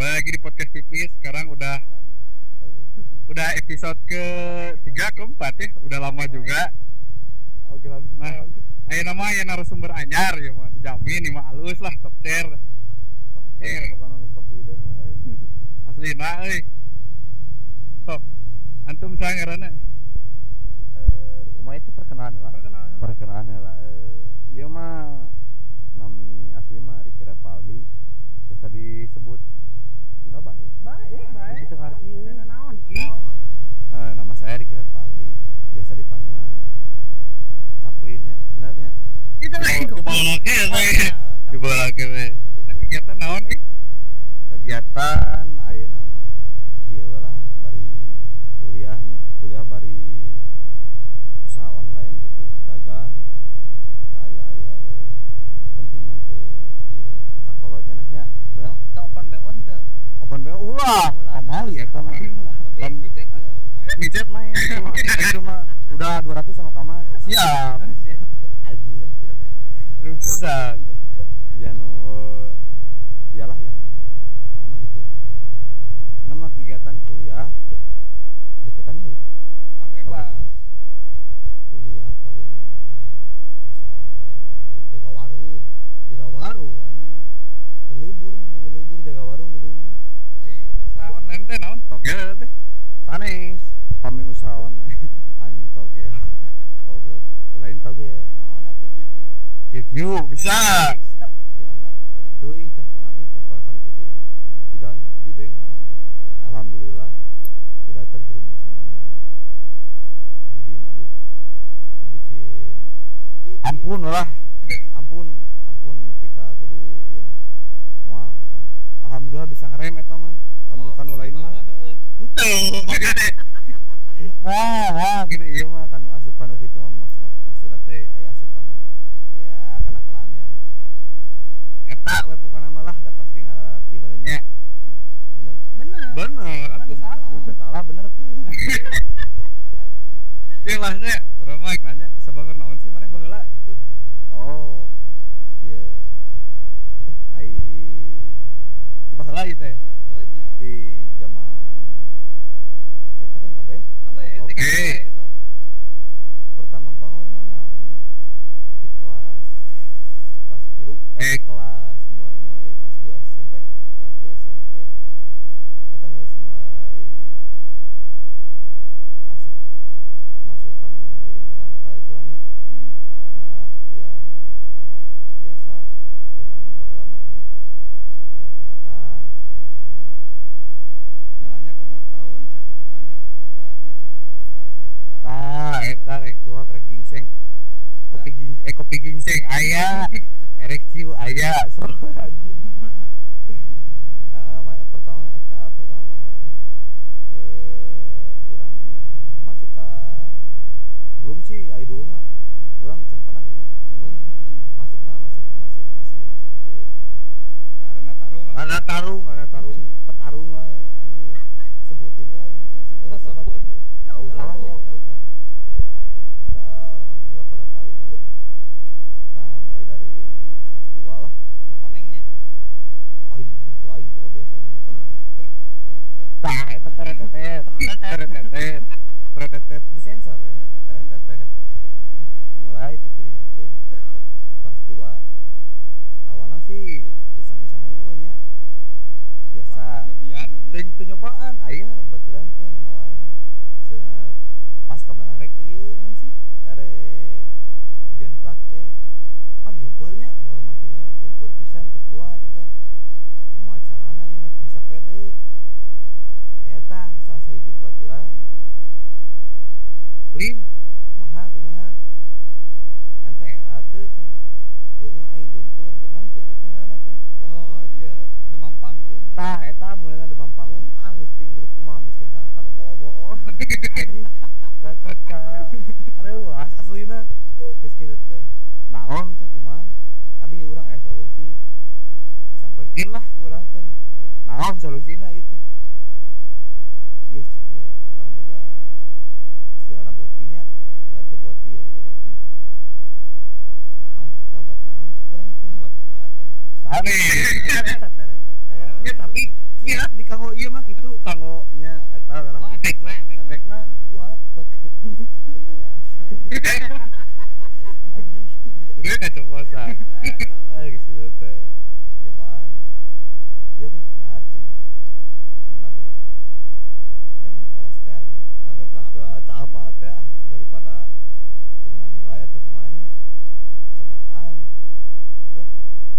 Kembali lagi di podcast Pipis. Sekarang udah episode ke-3 ke-4 ya. Udah lama juga. Nah, ayo nama ya narasumber anyar ya mah dijamin nih mah alus lah top chair. Bukan nangis kopi deh mah. Aslina euy. Sok antum saya ngaranna. Kumaha itu perkenalan lah. Ieu mah nami asli mah Ricky Repaldi. Biasa disebut Sunda bae. Bae. Kita ngarti. Nama saya Ricky Repaldi. Biasa dipanggil mah Caplinnya. Benarnya? Dibawa we. Kegiatan naon Kegiatan ayeuna mah kieu lah bari kuliah bari usaha online gitu, dagang. Aya we. Penting mah teu ieu kakolotnya nasnya. Bener. Open BO henteu. Open BO ulah. Pamali eta mah. Micet main. Itu mah udah 200 sama kamar. Siap. Anjir. Rusak. Ya iyalah yang pertama mah itu. Nama kegiatan kuliah deketan lah itu. Bebas. Kuliah paling usaha online naon deui jaga warung anu mah mumpung libur jaga warung di rumah. Usaha online teh naon? Togel teh. Sanes pami usaha online anjing togel. Goblok lain togel. Naon atuh? QQ bisa. Di online. Aduh can pernah kanu kitu judeng. Alhamdulillah tidak terjerumus dengan yang judi aduh bikin ampun nepi ka kudu ieu mah moal eta mah alhamdulillah bisa ngerem eta mah lamun kanu lain mah henteu maksudna moal gitu ieu mah kanu asup kanu kitu mah maksudna teh aya asup kanu ya kenakalan yang eta we pokona mah lah da pasti ngararti bener nya bener atuh mun salah bener teh Kilahnya urang mah nanya sabangar naon sih maneh baheula itu. Oh. Kieu. Ai di baheula ieu teh. Di zaman ceritakeun kabeh. Oke. Sok. Pertama bangor mah naonnya? Di kelas 3 kelas mulai kelas 2 SMP. Eta geus mulai masuk kanu lingkungan kala itulah nya. Yang biasa zaman baheula mah gini obat-obatan kumaha. Nyalanya komo tahun sakitu mah nya lobanya cai teh loba virtual. Tah eta rek tua rek gingseng. Kopi gingseng aya. Erek ciu aya so anjing. Pertama bangor mah urangnya masuk ka belum sih ai dulu mah urang can pernah gitu nya minum masih masuk ke arena tarung petarung lah anjing sebutin ulah ini sebut enggak usah da orang juga pada tahu kan. Nah mulai dari kelas 2 lah Nu konengnya. anjing tuh aing tuh des anjing tah eta teretetet disensor ya teretetet mulai tadinya teh kelas 2 awalnya sih iseng-iseng unggulnya biasa teu nyobaan aya baturan teh nu nawaran cenah pas kabeneran rek ieu naon sih erek ujian praktek pan gempeurnya baru materinya gempeur pisan teu kuat eta kumaha carana ieu mah bisa pede aya tah salah sahiji babaturan Lin, kumaha ente era teh aing gempeur naon sih eta teh ngaranna teh oh iya demam panggung ya tah eta mulana demam panggung geus ting grup kumaha geus kesan kanu bool-bool anjing kakot ka aduh aslina geus kitu teh naon teh kumaha tadi urang aya solusi disampeurkeun lah ku urang teh naon solusina ieu teh ieu cenah ieu urang boga istilahna botinya boti ya boga boti naon eta obat naon cek urang teh buat lah sane ya tapi kieu tak apa teh daripada temenang nilai atau kumanya cobaan dep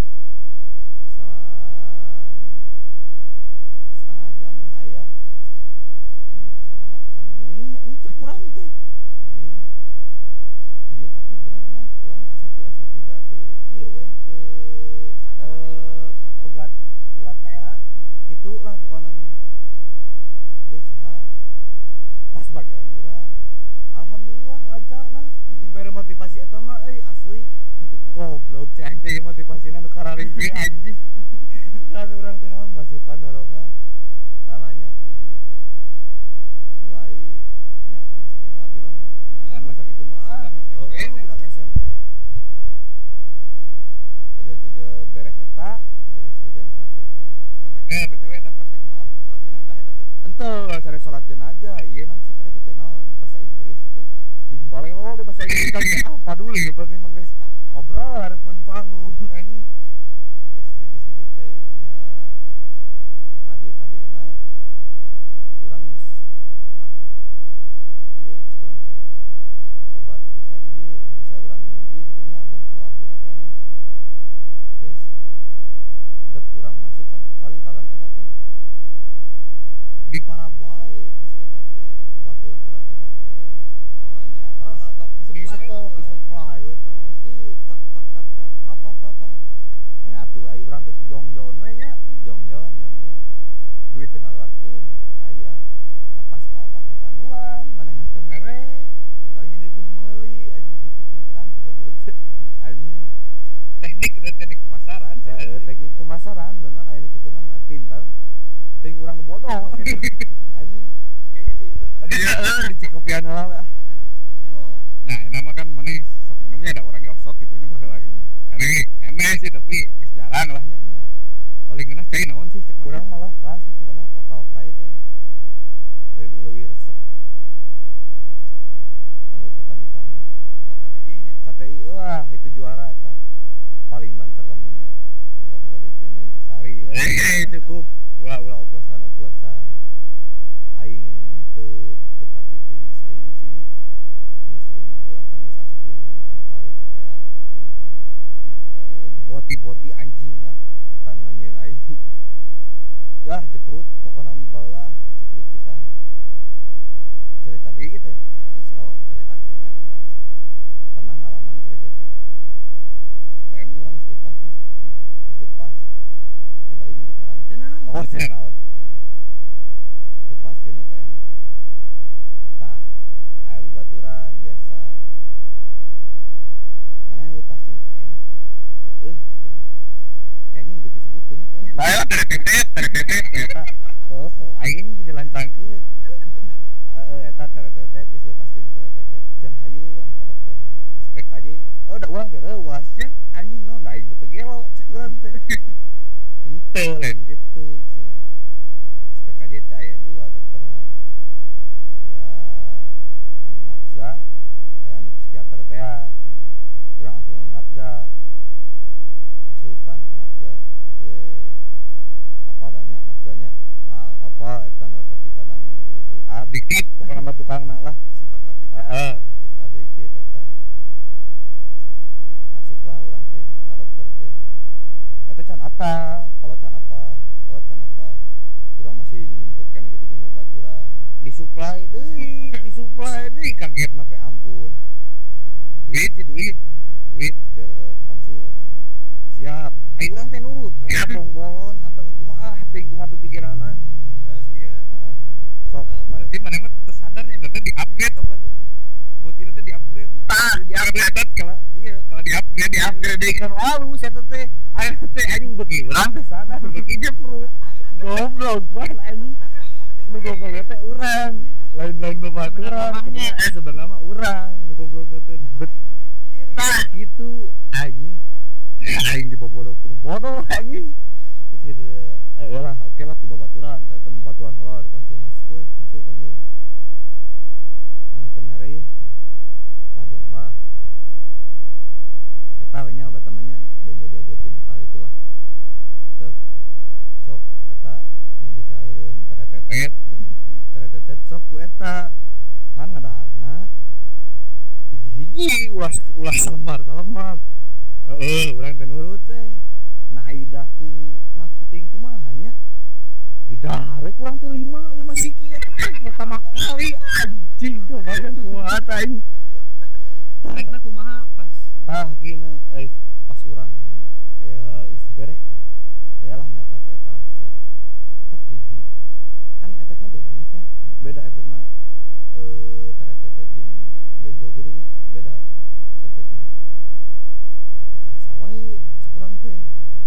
selang setengah jam lah aya anjing asa mui anjing cek urang teh mui dia tapi bener nas urang asa tiga teu ieu we teu pegat urat kaera kitu lah pokona mah geus siha pas bagian urang alhamdulillah lancar nas terus dibere motivasi eta mah asli goblok ceng teh motivasina nu karari ge anjing kan urang teh naon masukan dorongan lalanya di dinya teh mulai nya kan masih kena labil lah nya mun sakitu mah budak SMP aja beres eta beres ujian praktek teh BTW eta praktek naon salat jenazah eta teh henteu sare salat jenazah ieu naon sih kada teh naon bahasa Inggris itu jeung balelo di bahasa Inggris kan apa dulu penting mah geus ngobrol hareupeun panggung anjing geus kitu teh nya hadir-hadirna urang geus ieu sekolah teh obat bisa bisa urang nyieun ieu kitu nya abong kelabil kayaknya geus dep urang masuk kan kaleng-kaleng eta teh di Paraguay ku si eta teh baturan urang eta teh makanya di supply we terus ieu tep hap nya atuh ai urang teh sejongjon we nya jongjon duit teu ngaluarkeun nya beuti aya pas palebak kecanduan maneh teh mere urang nya deui kudu meuli anjing kitu pinteran sih goblok teh anjing teknik pemasaran sih teknik pemasaran bener aya nu kitu mah pintar ting urang nu bodoh gitu anjing kayaknya sih itu dia di Cikopian heula nah ini mah kan maneh sok minumnya ada orangnya osok gitu nya baheula lagi aneh sih tapi geus jarang lah nya paling geunah cai naon sih cek urang mah lokal sih sebenarnya lokal pride leuwih resep anggur ketan hitam KTI nya KTI wah itu juara eta paling banter lamunnya buka-buka duit mah intisari cukup ulah oplosan aing nu mah teu pati ting sering sih nya nu sering mah urang kan geus asup lingkungan kanu karo itu teh lingkungan boti anjing lah eta nu nganyieun aing yah jeprut pokona baheula jeprut pisan cerita deui teh ceritakeun we Bang pernah ngalaman keur itu teh TM urang geus leupas mas geus leupas bae nyebut ngaran oh cenah naon leupas tinu TM teh tah aya babaturan biasa mana yang leupas tinu TM cek urang teh anjing beuti disebutkeun nya teh ayo teretetet eta oh aing jadi lancangkeun eta teretetet geus leupas tinu teretetet can hayu we urang ka dokter spek aja da urang teh reuwas nya anjing naon da aing beuteung gelo cek urang teh henteu lain gitu cenah spek aja teh aya 2 dokterna ya anu nafza aya anu psikiater teh urang asupan anu nafza masukan ke nafza eta apa adanya nafzanya apa eta narkotika dan adiktif pokoknya nama tukangna lah psikotropika adiktif eta asuplah urang teh ka dokter teh eta can apa kalau can apa urang masih nyumputkeun gitu jeung babaturan disuplai deui kagetna teh ampun duit keur konsul siap ayo urang teh nurut bolon atau kumaha teuing kumaha pikiranna sok berarti maneh mah teu sadarnya teh di-upgrade obat teh botina teh di-upgrade di-upgrade kalau di-upgrade kan alus eta teh aya teh anjing beuki urang teh sadar beuki jeprut goblok ban anjing nu goblok teh urang lain babaturan sebenarnya mah urang nu goblok teh tah gitu anjing aing dibobodok kudu bodoh anjing terus gitu lah oke lah di babaturan teh babaturan heula konsul mana teh mere ya tah 2 lembar eta we nya obat temannya benzo diazepin kali itulah tep sok eta mah bisa eureun teretetet sok ku eta kan ngadarna hiji-hiji ulah salemar urang teh nurut teh nah aidaku nafsu teuing kumaha nya didare kurang teh 5 siki eta pertama kali anjing kebayang kumaha tah anjing Rekna kumaha pas tah kina pas urang geus dibere tah aya lah merek teh eta lah tetep hiji kan efekna bedanya sih beda efekna teret-teret jeung benzo gitu nya beda efekna nah teu karasa wae kurang teh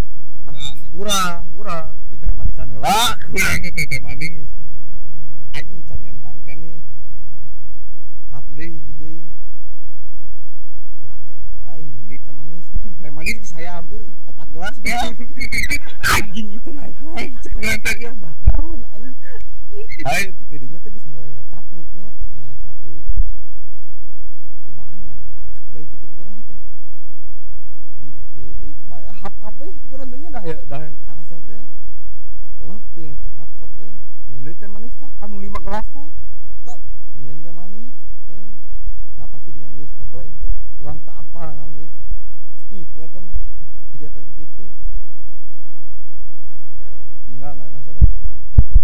kurang di teh manisan heula kurang teh manis anjing can nyentangkeun nih hap deui hiji deui kurang kene wae nyindi teh manis saya hampir 4 gelas bang anjing itu naik cek urang teh ya bataun anjing ayo itu tidinya teh geus mulai ngacapruknya kumaha nya da harga kabeh kitu kurang teh anjing atuh deui bae hap kabeh kurang teh nya dah karasa teh lap teh hap kabeh nyeun teh manis tah anu 5 gelas tah tep nyeun teh manis teh napas tidinya geus kebleng urang teu apal naon geus skip we teh mah jadi efeknya kitu enggak sadar pokoknya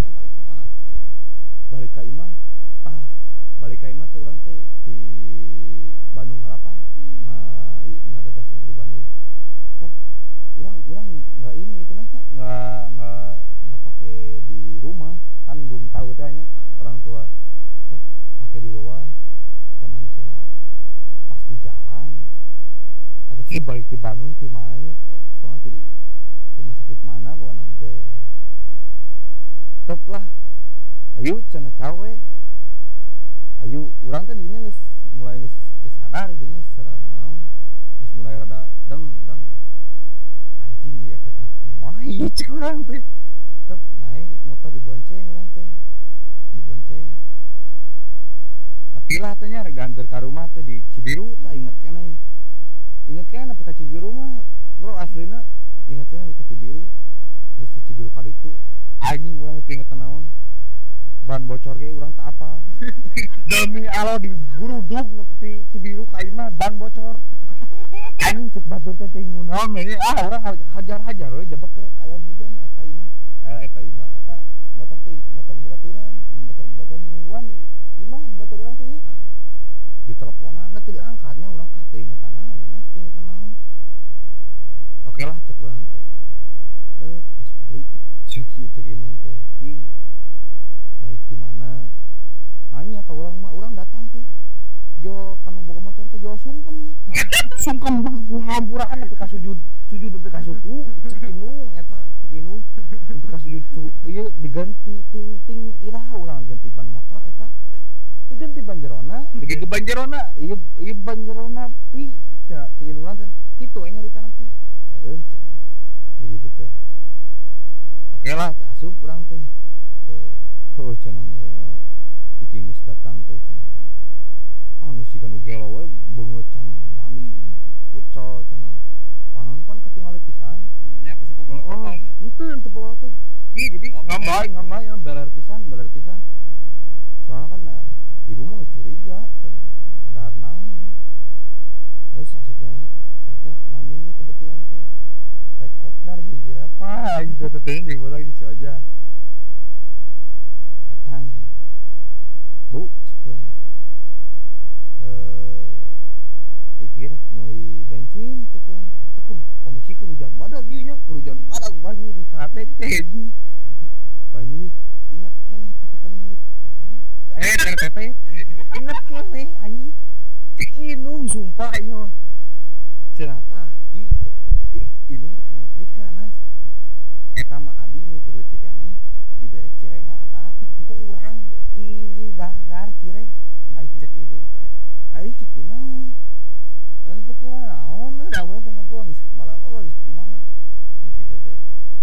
balik ka imah teh urang teh di Bandung ngalapan ngadadasan di Bandung tep urang enggak ini itu nasa enggak pakai di rumah kan belum tahu teh nya orang tua tep pakai di luar teh manis lah pas di jalan ada teh balik di Bandung di mananya pokoknya di rumah sakit mana pokoknya teh tep lah ayo cenah cawe ayo urang teh didinya geus mulai geus sadar didinya sadar naon geus mulai rada deng anjing ieu efekna kumaha ieu cek urang teh tep naik motor dibonceng urang teh nepi lah teh nya rek diantar ka rumah teh di Cibiru tah inget keneh nepi ka Cibiru mah bro aslina inget keneh ka Cibiru geus di Cibiru ka ditu anjing urang geus inget naon ban bocor ge urang teu apal demi Allah diburudug di Cibiru ka imah ban bocor anjing cek batur teh teuing naon we urang hajar we jebek keur aya hujan eta imah eta motor babaturan nungguan di imah batur urang teh nya di teleponan da teu diangkatnya urang teu ingetan naon oke lah cek urang teh deuh pas balik cek inung teh ki balik di mana nanya ke orang mah orang datang teh jual kanu boga motor teh jual sungkem hampuraan nepi ka sujud nepi ka suku cek inung nepi ka sujud ieu diganti ting irah urang ganti ban motor eta diganti ban jerona ieu ban jerona pi cek inung teh kitu nya nyarita teh cek gitu teh oke lah asup urang teh cenah iki geus datang teh cenah geus sigan ugelo we beungeut can mandi kucel cenah pan ketinggalan pisan nya pasti bobolan total nya henteu bobolan tuh ki jadi ngambay beler pisan soalnya kan ibu mah geus curiga cenah ada naon geus asupna ada teh malam minggu kebetulan teh rek kopdar jeung apa gitu teh jeung bola si Oja datang bu cekuan iki rek meuli bensin cekuan teh eta kondisi kehujan badag ieu nya banjir di katek teh anjing banjir ingat keneh tapi kan meuli teh ingat keneh anjing inung sumpah ieu cenah tah ki inung teh kena trika nas eta mah adi nu keur leutik keneh dibere cireng lata kurang iri dar cireng ai cek hidung teh ai ki kunaon sekolah naon da urang teh ngobrol geus balalo geus kumaha geus kitu teh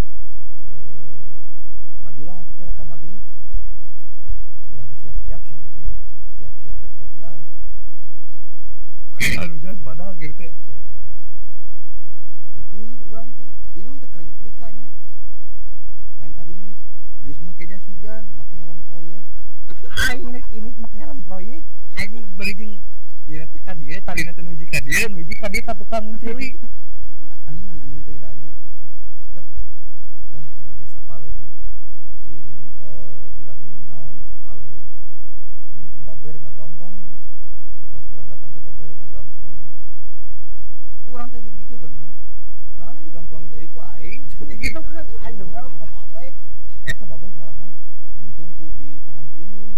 majulah teh rek ka magrib urang teh siap-siap sore teh nya siap-siap rek kopdar hujan badag gitu teh urang teh inung teh keur nyetrikanya minta duit geus make jas hujan make helm proyek aing rek ini make helm proyek anjing bari jeung ieu teh ka dieu talina teh nuju ka dieu ka tukang cili anjing minum teh danya dah geus apaleun nya ieu minum budak minum naon geus apaleun baber ngagampang tepas urang datang teh baber ngagampang kurang teh digigikeun nah digamplang deui ku aing digitukeun aing denggal ka babe eta babe sorangan untung ku ditahan ku indung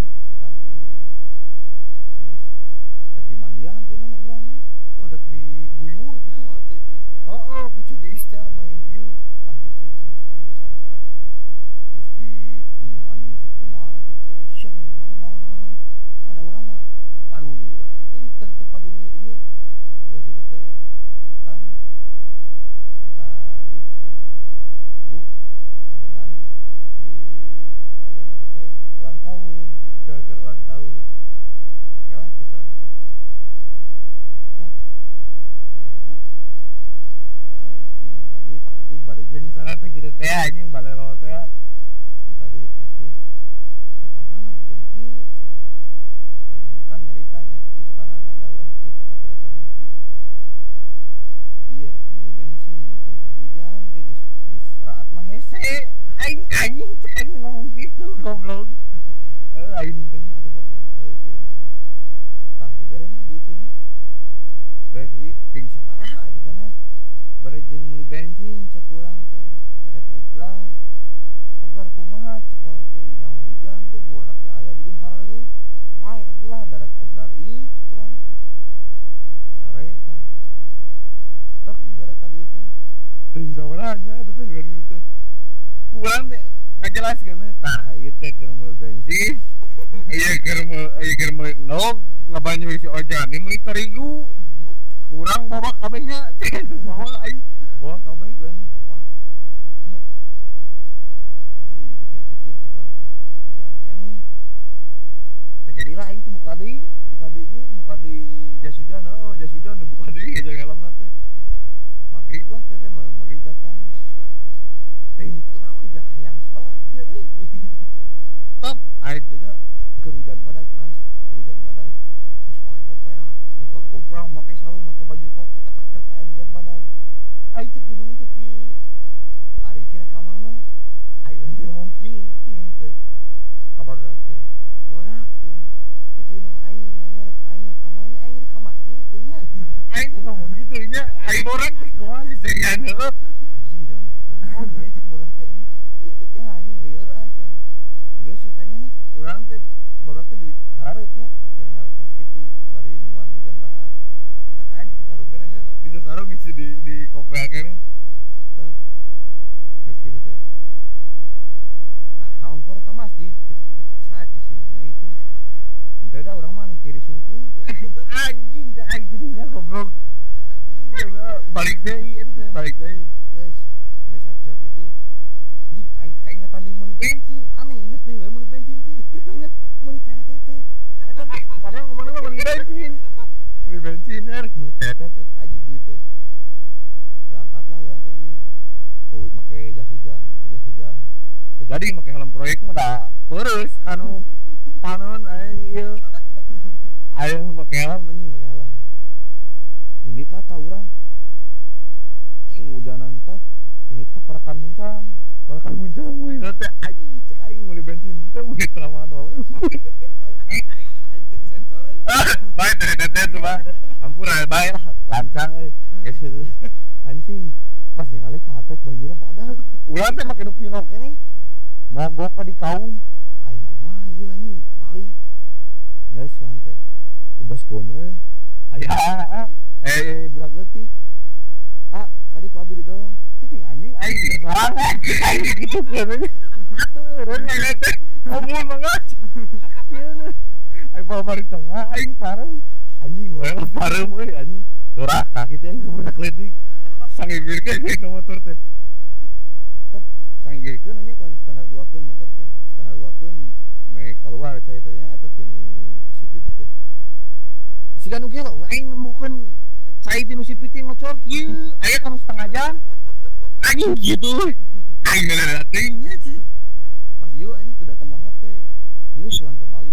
geus rek dimandian teh mah urang mah rek diguyur gitu ku cuti istel main ieu lanjut teh eta geus adat-adatan geus diunyang anjing si kumaha lanjut teh aisyah naon ada urang mah paduli we tetep paduli ieu geus itu teh tan minta duit sekarang bu kebenaran si wajan eta teh ulang tahun keur ulang tahun oke lah sekarang teh tap bu iki minta duit atuh bade jeung sana teh kitu teh anjing balelo teh minta duit atuh teh ka mana hujan kieu lain kan nyaritanya isukanana da urang skip eta kereta mah iya rek meuli bensin mumpung keur hujan ge geus raat mah hese aing cek aing ngomong gitu goblok aing teh nya aduh babong gede mah tah dibere lah duit teh nya bere duit ting sabaraha eta teh nas bere jeung meuli bensin cek urang teh rek koplar kumaha cek teh nyaho hujan tuh borak ge aya di dahar tuh bae atulah darek koplar ieu cek urang teh sore tah tetep dibere ta duit teh ting sabaraha nya eta teh dibere duit teh urang teh ngajelaskeun tah ieu teh keur meuli bensin ieu keur meuli nog ngabanyu si ojan ini meuli terigu kurang bawa kabehnya bawa aing bawa kabeh kurang teh bawa tetep anjing dipikir-pikir cek urang teh hujan keneh teh jadilah aing teh buka deui ieu buka deui jas hujan buka deui jeung helmna teh magrib lah teh magrib datang teuing kunaon jeung hayang salat teh euy tep aya teh keur hujan badag nas keur hujan badag geus make kopiah make sarung make baju koko etek keur kaen hujan badag aing cek indung teh kieu ari kira ka mana aing teh ngomong kieu cing teh ka barudak teh borak teh itu indung aing nanya rek aing rek ka mana nya aing rek ka masjid teh nya aing teh ngomong gitu nya aing borak teh kumaha sih serian heuh anjing jelema teh kumaha we cek borak teh nya nah anjing lieur asa geus we tanya nas urang teh borak teh di harareupnya keur ngarecas kitu bari nuan hujan raat eta kaen di sasarung keneh nya di sasarung di kopea keneh tep geus kitu teh nah haung korek ka masjid cek saha cek sinyanya gitu henteu da urang mah tiri sungkul anjing da aing jadinya goblok anjing balik deui eta teh balik deui geus siap-siap gitu anjing aing teh kaingetan deui meuli bensin aneh inget deui we meuli bensin teh inget meuli tetet eta teh padahal ngomongna meuli bensin rek meuli tetet anjing duit teh berangkatlah urang teh anjing make jas hujan teh jadi make helm proyek mah da peureus kanu panon anjing ieu aya make helm ini tah urang anjing hujanan teh ini ka parakan muncang we teh anjing cek aing meuli bensin teh meuli tramadol anjing teh sensor bae teh mah ampura bae lah lancang geus kitu anjing pas ningali ka hatek banjirna badag urang teh make nu pinok keneh mogok ka di kaum aing kumaha ieu anjing balik geus kumaha teh bebaskeun we aya budak leutik kadi ku abi didorong cicing anjing aing geus sorang aing gitu keun turun nya teh ngomong mangga ieu na aing bawa bari tengah aing parem anjing we parem euy anjing doraka kitu aing budak leutik sanggigirkeun ka motor teh tep sanggigirkeun nya ku standar 2keun motor teh standar 2keun me kaluar cai teh nya eta tinu sipit teh siga nu gelo aing nemukeun cai tinu sipit ngocor kieu aya kan setengah jam anjing gitu aing ngadating nya pas ieu anjing teu datang HP geus urang teh balik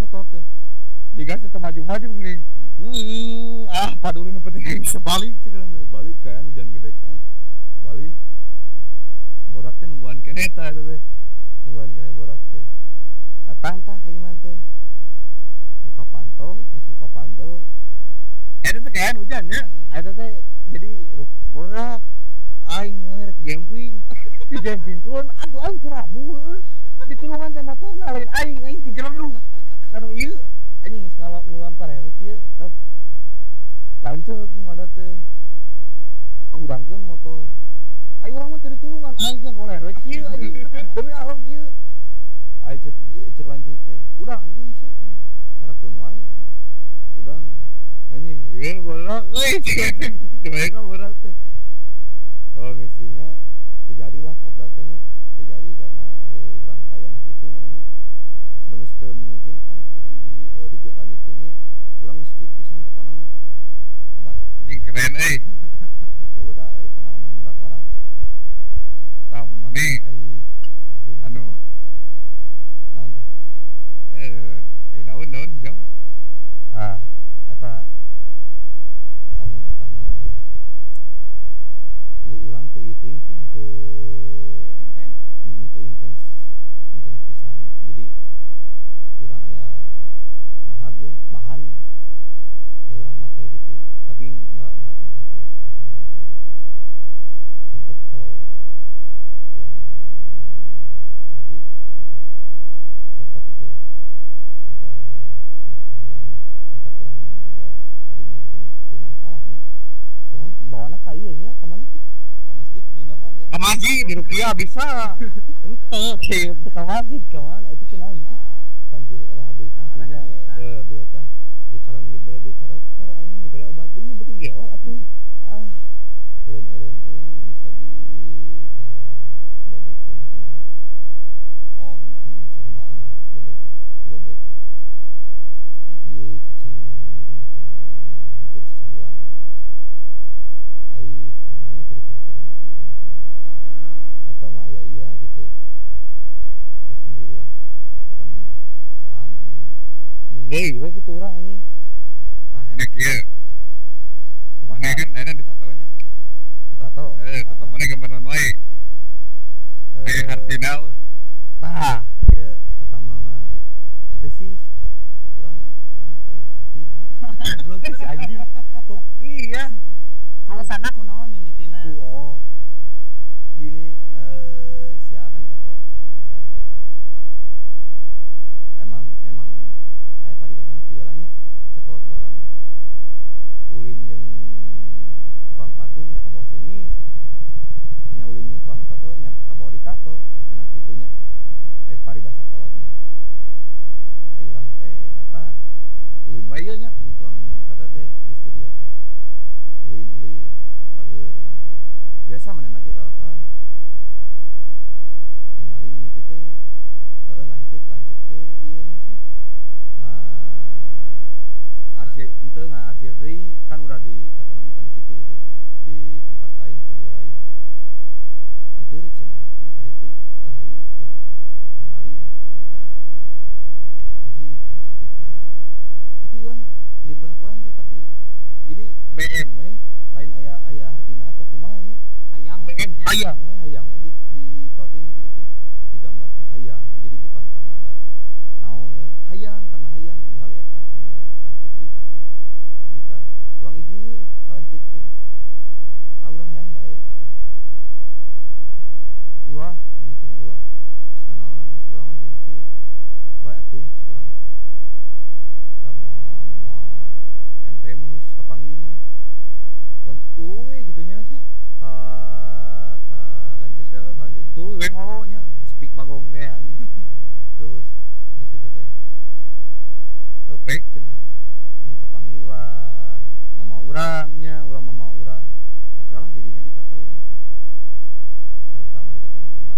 motor teh digas teh maju-maju geuning paduli nu penting aing bisa balik teh balik kan hujan gede kan balik borak teh nungguan keneh tah eta teh nungguan keneh borak teh datang tah ka imah teh muka pantau pas muka pantau eta teh kan hujan nya eta teh jadi borak aing rek camping di campingkeun atuh aing teh rabu ditulungan teh motorna lain aing digeleduk kanu ieu anjing geus ngulang parewe kieu tep lanceuk nu ngada teh urangkeun motor ai urang mah teu ditulungan aing yang koler we kieu anjing demi Allah kieu ai cek lanceuk teh udang anjing sia cenah ngarakeun wae udang anjing lieu borak euy kitu bae ka borak teh oh misinya terjadilah kopdar teh nya terjadi karena urang kaya anak itu mulanya geus teu memungkinkan gitu rek dilanjutkeun ge urang skip pisan pokona mah anjing keren gitu udah pengalaman budak orang tahun mana anu naon teh daun hijau eta amun eta mah urang teu ieu teuing sih teu intens pisan jadi urang aya nahar deh bahan ya urang mah kayak gitu tapi nggak sampai kecanduan kayak gitu sempet kalau yang sabu sempat itu nya kecanduan lah mentak kurang dibawa kadinya gitunya tuna masalahnya kurang bawana ka ieu nya ka mana sih ka masjid kudu namanya ka masjid di Rupiah bisa henteu ka masjid ka mana eta teh naon panti rehabilitasinya rehabilitasi ya karena dibere di ka dokter anjing dibere obatnya beuki gelo atuh eureun teh urang bisa dibawa ku babe ke rumah cemara oh nya ke rumah cemara babe teh ku babe teh dia cicing di rumah cemara urang ya hampir sabulan ai teu naonnya cerita-cerita teh di rumah cemara atau mah aya iya gitu tersendirilah pokoknya mah kelam anjing munggeh we kitu urang anjing tah enak ieu kumaha kan ayeuna ditato nya ditato tato mana gambar naon wae aya hartina tah ieu pertama mah henteu sih urang atuh arti mah belum sih anjing kok ya alasanna kunaon mimitina oh gini sia kan ditato emang aya paribasana kieu lah nya cekolot baheula mah ulin jeung tukang parfum nya ka bawah seungit nya ulin jeung tukang tato nya ka bawah ditato istilahna kitu nya aya paribasa kolot mah aya urang teh datang ulin wae nya jeung tukang tato teh di studio teh ulin bageur urang teh biasa manehna ge welcome ningali mimiti teh lanjut teh ieu naon sih arsir deui kan udah di tatona bukan di situ gitu di tempat lain studio lain anteur cenah ki ka ditu hayu cuk urang teh ningali urang teh kabita anjing aing kabita tapi urang di benak urang teh tapi jadi BM we lain aya hartina atau kumaha nya hayang we hayang we di toting teh gitu digambar teh hayang we jadi bukan karena ada naon ya hayang karena hayang ningali eta ningali lanceuk di tato kabita urang izin ieu ka lanceuk teh urang hayang bae ulah mimiti mah ulah geus naon geus urang we hungkul bae atuh cuk urang teh da moal ente mun geus kapanggih mah urang tuluy we kitu nya nya ka lanceuk teh ka lanceuk tuluy we ngolo nya speak bagong teh anjing terus ngisi teh pek cenah mun kapanggih ulah mama urangnya ulah mama urang oke lah didinya ditato urang teh pertama ditato mah gambar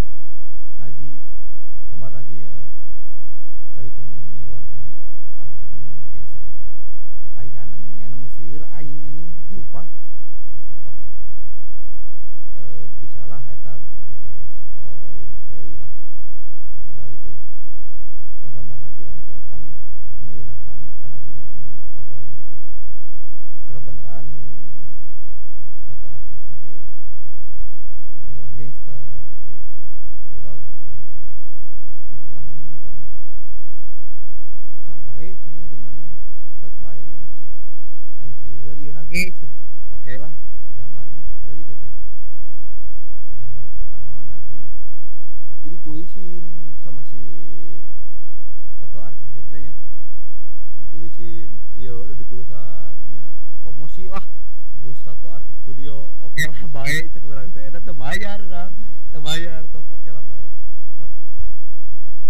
nazi kali itu mun ngiluan kana alah anjing gangster tetaihan anjing ngena geus lieur anjing sumpah bisalah eta briges bawain oke lah ya udah gitu urang gambar nazi lah eta kan ditulisin sama si tato artis itu nya, ditulisin iya udah ditulisannya promosi lah bos tato artis studio oke lah baik cek orang teh eta teu bayar urang teu bayar sok oke lah baik tak ditato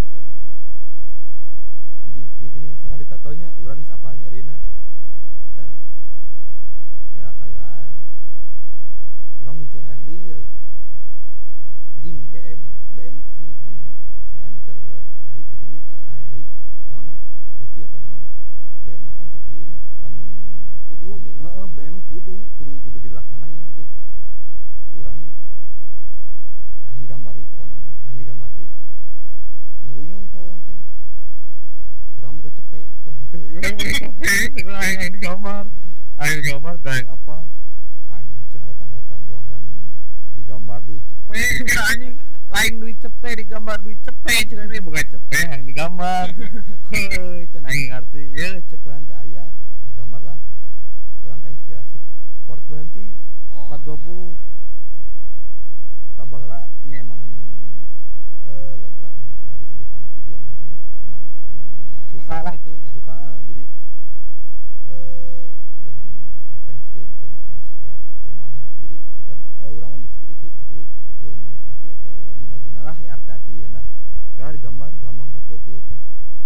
anjing kieu geuning rasana ditatonya urang geus apa nyarina tak ya kalilaan urang muncul hayang lieu anjing BM ya BM kan lamun kayan keur haik gitunya haik naon lah putih atau naon BM mah kan sok ieu nya lamun Kudu gitu. heeh BM kudu dilaksanain gitu urang hayang digambari pokona mah hayang digambari nurunyung tah urang teh urang buka cepek pokona teh urang buka cepek cek hayang digambar hayang apa anjing cenah datang jual hayang digambar duit cepek anjing lain duit cepek digambar duit cepek cenah ini bukan cepek yang digambar heuh cenah aing ngarti ye cek urang teh aya digambar lah urang ka inspirasi Port 20 420 tak baheula nya emang nggak disebut fanatik juga nggak sih nya cuman emang suka lah itu. suka jadi dengan ngefans ke itu ngefans berat atau kumaha jadi kita urang mah bisa cukup ukur menikmati atau lagu-laguna lah ya arti-artieuna kalau digambar lambang 420 teh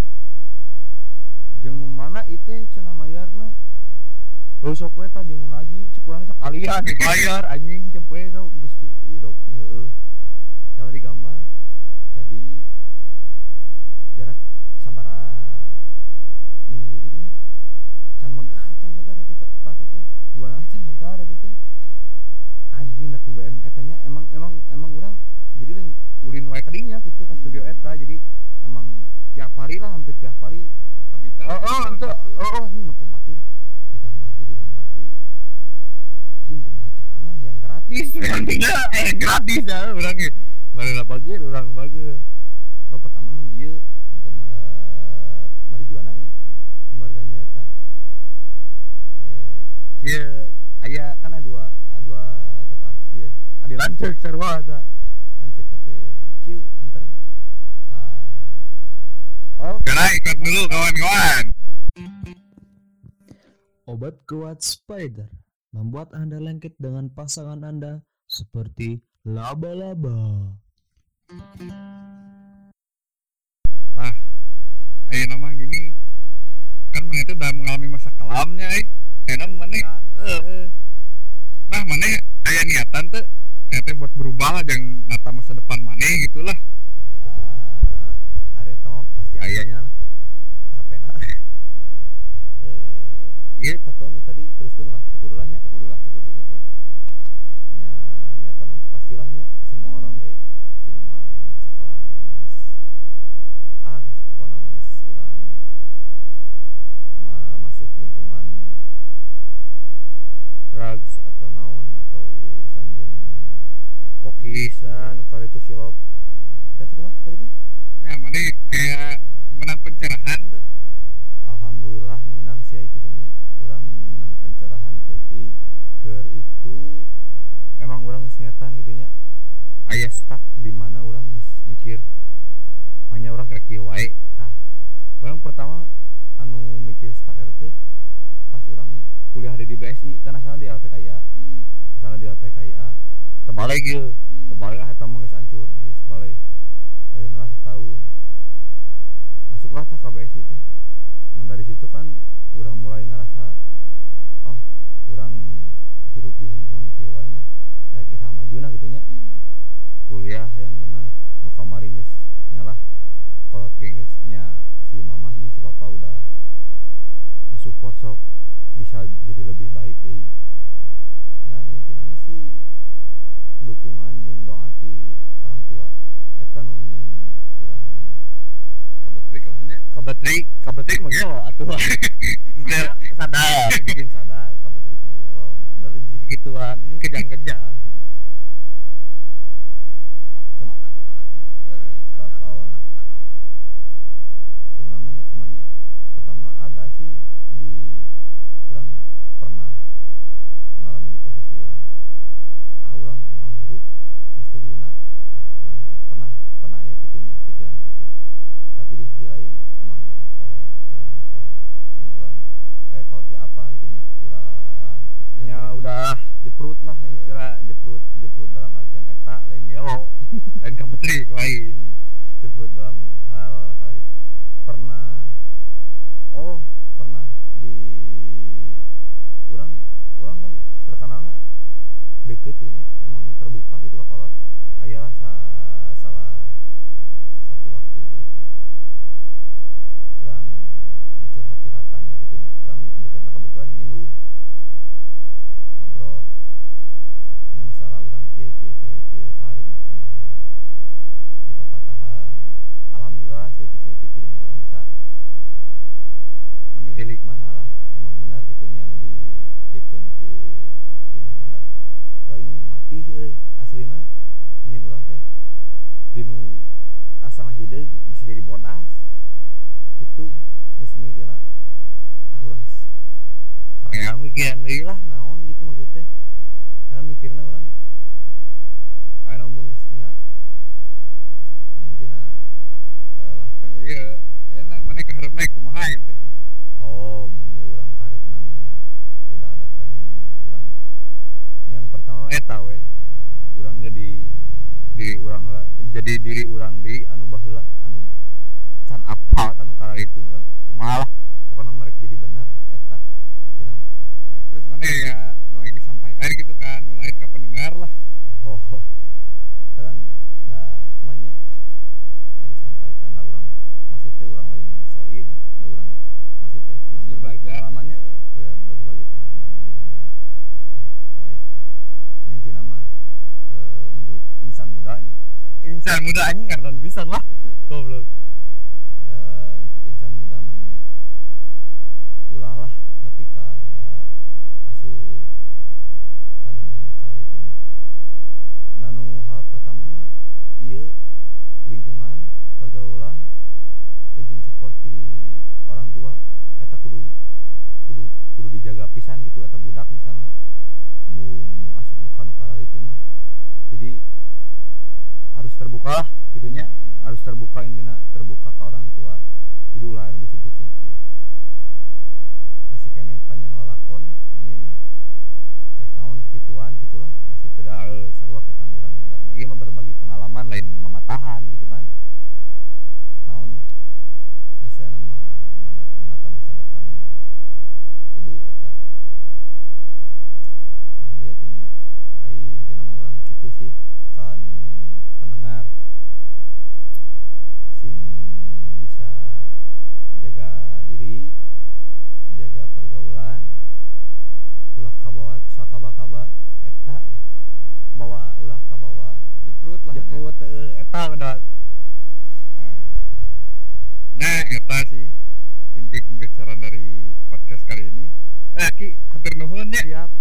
jeung nu mana ieu teh cenah mayarna sok we tah jeung nu naji cek urang sakalian dibayar anjing cepet sok geus hidup heueuh kalau digambar jadi jarak sabaraha minggu gitu nya can megar itu tato teh dua can megar itu teh anjing da ku BM eta nya emang urang jadi ulin wae ka dinya gitu ka studio eta jadi emang tiap hari lah hampir tiap hari kabita itu anjing nempo batur digambar di anjing kumaha carana yang gratis yang gratis ya urang ge baheula bager urang bager pertama mah ieu gambar marijuananya gambar ganya eta kieu aya kan ada dua tato artis ya adi lanceuk sarua eta lanceuk teh kieu anter ka sekarang ikut dulu kawan-kawan. Obat kuat Spider membuat Anda lengket dengan pasangan Anda seperti laba-laba. Tah, ayeuna mah gini kan mana itu udah mengalami masa kelamnya karena mana nah mana aya niatan tuh teh buat berubah lah jangan nata masa depan mana gitulah ya areta mah pasti ayanya lah tahapena ieu tato nu tadi teruskeun lah teu kudu lah nya nya niatan mah pastilah nya semua orang ge tinu mengalami masa kelam gitu nya geus pokona mah geus urang masuk lingkungan drugs atau naon atau urusan jeung pokisan kare itu silop anjing dan kumaha tadi teh ya mana kayak menang pencerahan tuh alhamdulillah menang sih aya kitu nya urang menang pencerahan teh di keur itu emang urang geus niatan gitu nya aya stuck di mana urang geus mikir manya urang kira kieu wae tah urang pertama anu mikir stuck eta teh pas urang kuliah di BSI kan asalna di LPKIA asalna di LPKIA tebalik ge tebalik lah eta mah geus hancur geus balik dari nala setahun masuklah tah ka BSI teh nah dari situ kan urang mulai ngerasa oh urang hirup di lingkungan kieu wae mah kira-kira majuna gitu nya kuliah yang bener nu kamari geus nyalah kolot ge geus nya si mamah jeung si bapa udah nge-support sok bisa jadi lebih baik deui nah nu intina mah sih dukungan jeung doa ti orang tua eta nu nyieun urang kabetrik lah nya kabetrik mah gelo atuh sadar bikin sadar kabetrik mah gelo dari gituan ini kejang-kejang awalna kumaha teh sadar awal melakukan naon sebenarnya kumanya pertama ada sih di urang pernah mengalami di posisi urang naon hirup geus teu guna tah urang pernah emang doang kolot kan orang kolot ke apa gitunya orangnya udah jeprut lah istilah jeprut dalam artian eta lain gelo lain kapetrik lain jeprut dalam hal kala itu pernah di orang kan terkenalnya deket gitunya emang terbuka gitu ke kolot aya salah satu waktu gitu orang curhat-curhatan gitunya orang deketnya kebetulan yang indung ngobrol nya masalah orang kieu kahareupna kumaha di papatahan alhamdulillah setik-setik dirinya orang bisa ambil tilik mana lah emang benar gitunya nu dijiekeun ku indung mah da indung mati euy aslina nyin urang teh tinu asal hideung bisa jadi bodas gitu geus mikirna urang haream mikiran deui lah naon gitu maksud teh karena mikirna urang aya umur geus nya intina lah iya enak mana keharapna kumaha gitu mun ieu urang kahareupna mah nya udah ada planningnya urang yang pertama eta we urang jadi diri urang deui anu baheula anu can apal kanu kala itu kumaha lah pokona merek jadi bener eta tina terus mana ya nu yang disampaikan gitu kan nu lain ke pendengar lah orang da kumaha nya aya disampaikan da urang maksudnya urang lain soi nya da urangnya maksudnya yang berbagi pengalamannya berbagi pengalaman di dunia nu poek nyentina mah untuk insan mudanya anjing ngardan pisan lah goblok untuk insan muda mah nya ulah lah nepi ka asup ka dunia nu kalar itu mah nanu hal pertama mah ieu lingkungan pergaulan jeung suporti orang tua eta kudu dijaga pisan gitu eta budak misalnya mung asup nu kalar itu mah jadi harus terbuka lah gitunya harus terbuka intinya terbuka ke orang tua jadi ulah anu disumput-sumput masih kene panjang lalakon lah mun ieu mah karek naon kikituan gitulah maksudnya da sarua ketang urang da ieu mah berbagi pengalaman lain mamatahan gitu kan naon lah geus nama menata masa depan mah kudu eta naon deui atuh nya ai intina mah urang kitu sih kan pendengar sing bisa jaga diri jaga pergaulan ulah kabawa kusakaba-kaba eta we bawa ulah kabawa jeprut eta udah nah eta sih inti pembicaraan dari podcast kali ini Ki hatur nuhun nya siap